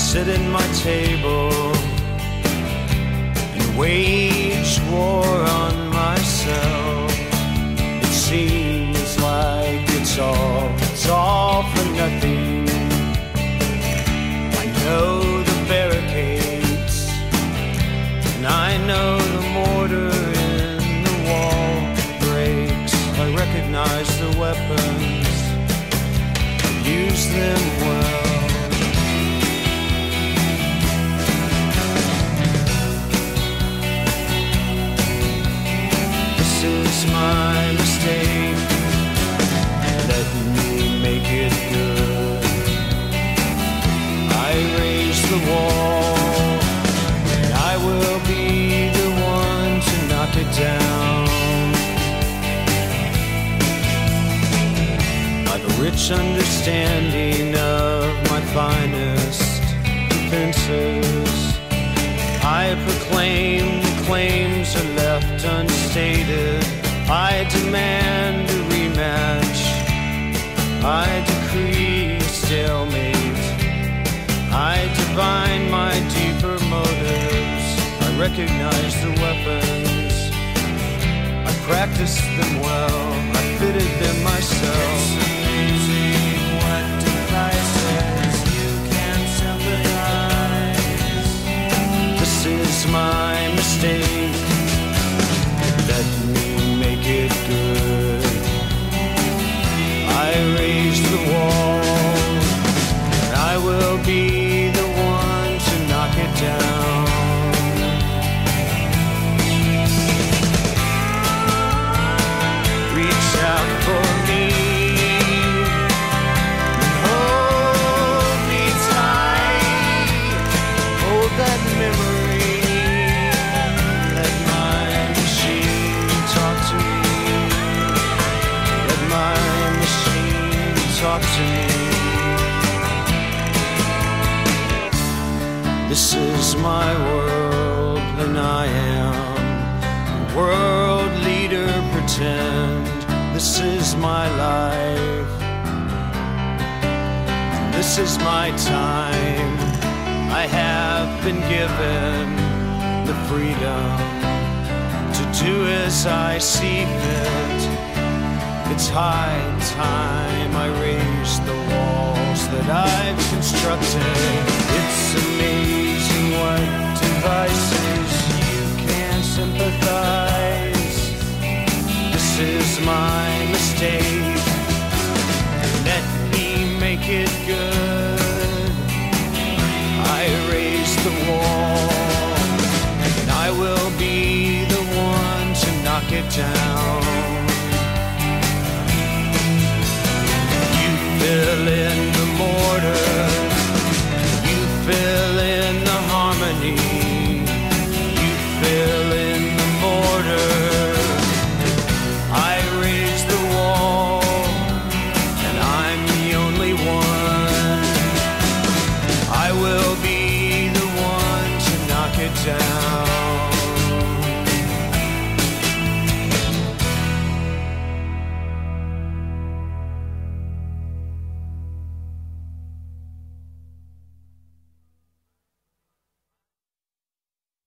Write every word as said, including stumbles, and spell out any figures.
sit at my table and wage war on myself. It seems like it's all, it's all for nothing. I know the barricades, and I know the mortar in the wall breaks. I recognize the weapons, I use them well. My mistake, let me make it good. I raise the wall, and I will be the one to knock it down. I've a rich understanding of my finest defenses. I proclaim the claims are left unstated. I demand a rematch, I decree a stalemate. I divine my deeper motives, I recognize the weapons, I practiced them well, I fitted them myself. It's amazing what devices you can sympathize. This is my mistake, let me make it good. I raise the wall, and I will be the one to knock it down. Reach out for me, hold me tight, hold that memory. Talk to me. This is my world, and I am a world leader. Pretend this is my life, this is my time. I have been given the freedom to do as I see fit. It's high time I raise the walls that I've constructed. It's amazing what devices you can sympathize. This is my mistake, let me make it good. I raise the wall, and I will be the one to knock it down. Fill in the mortar, you fill in the harmony, you fill in the mortar. I raise the wall, and I'm the only one. I will be the one to knock it down.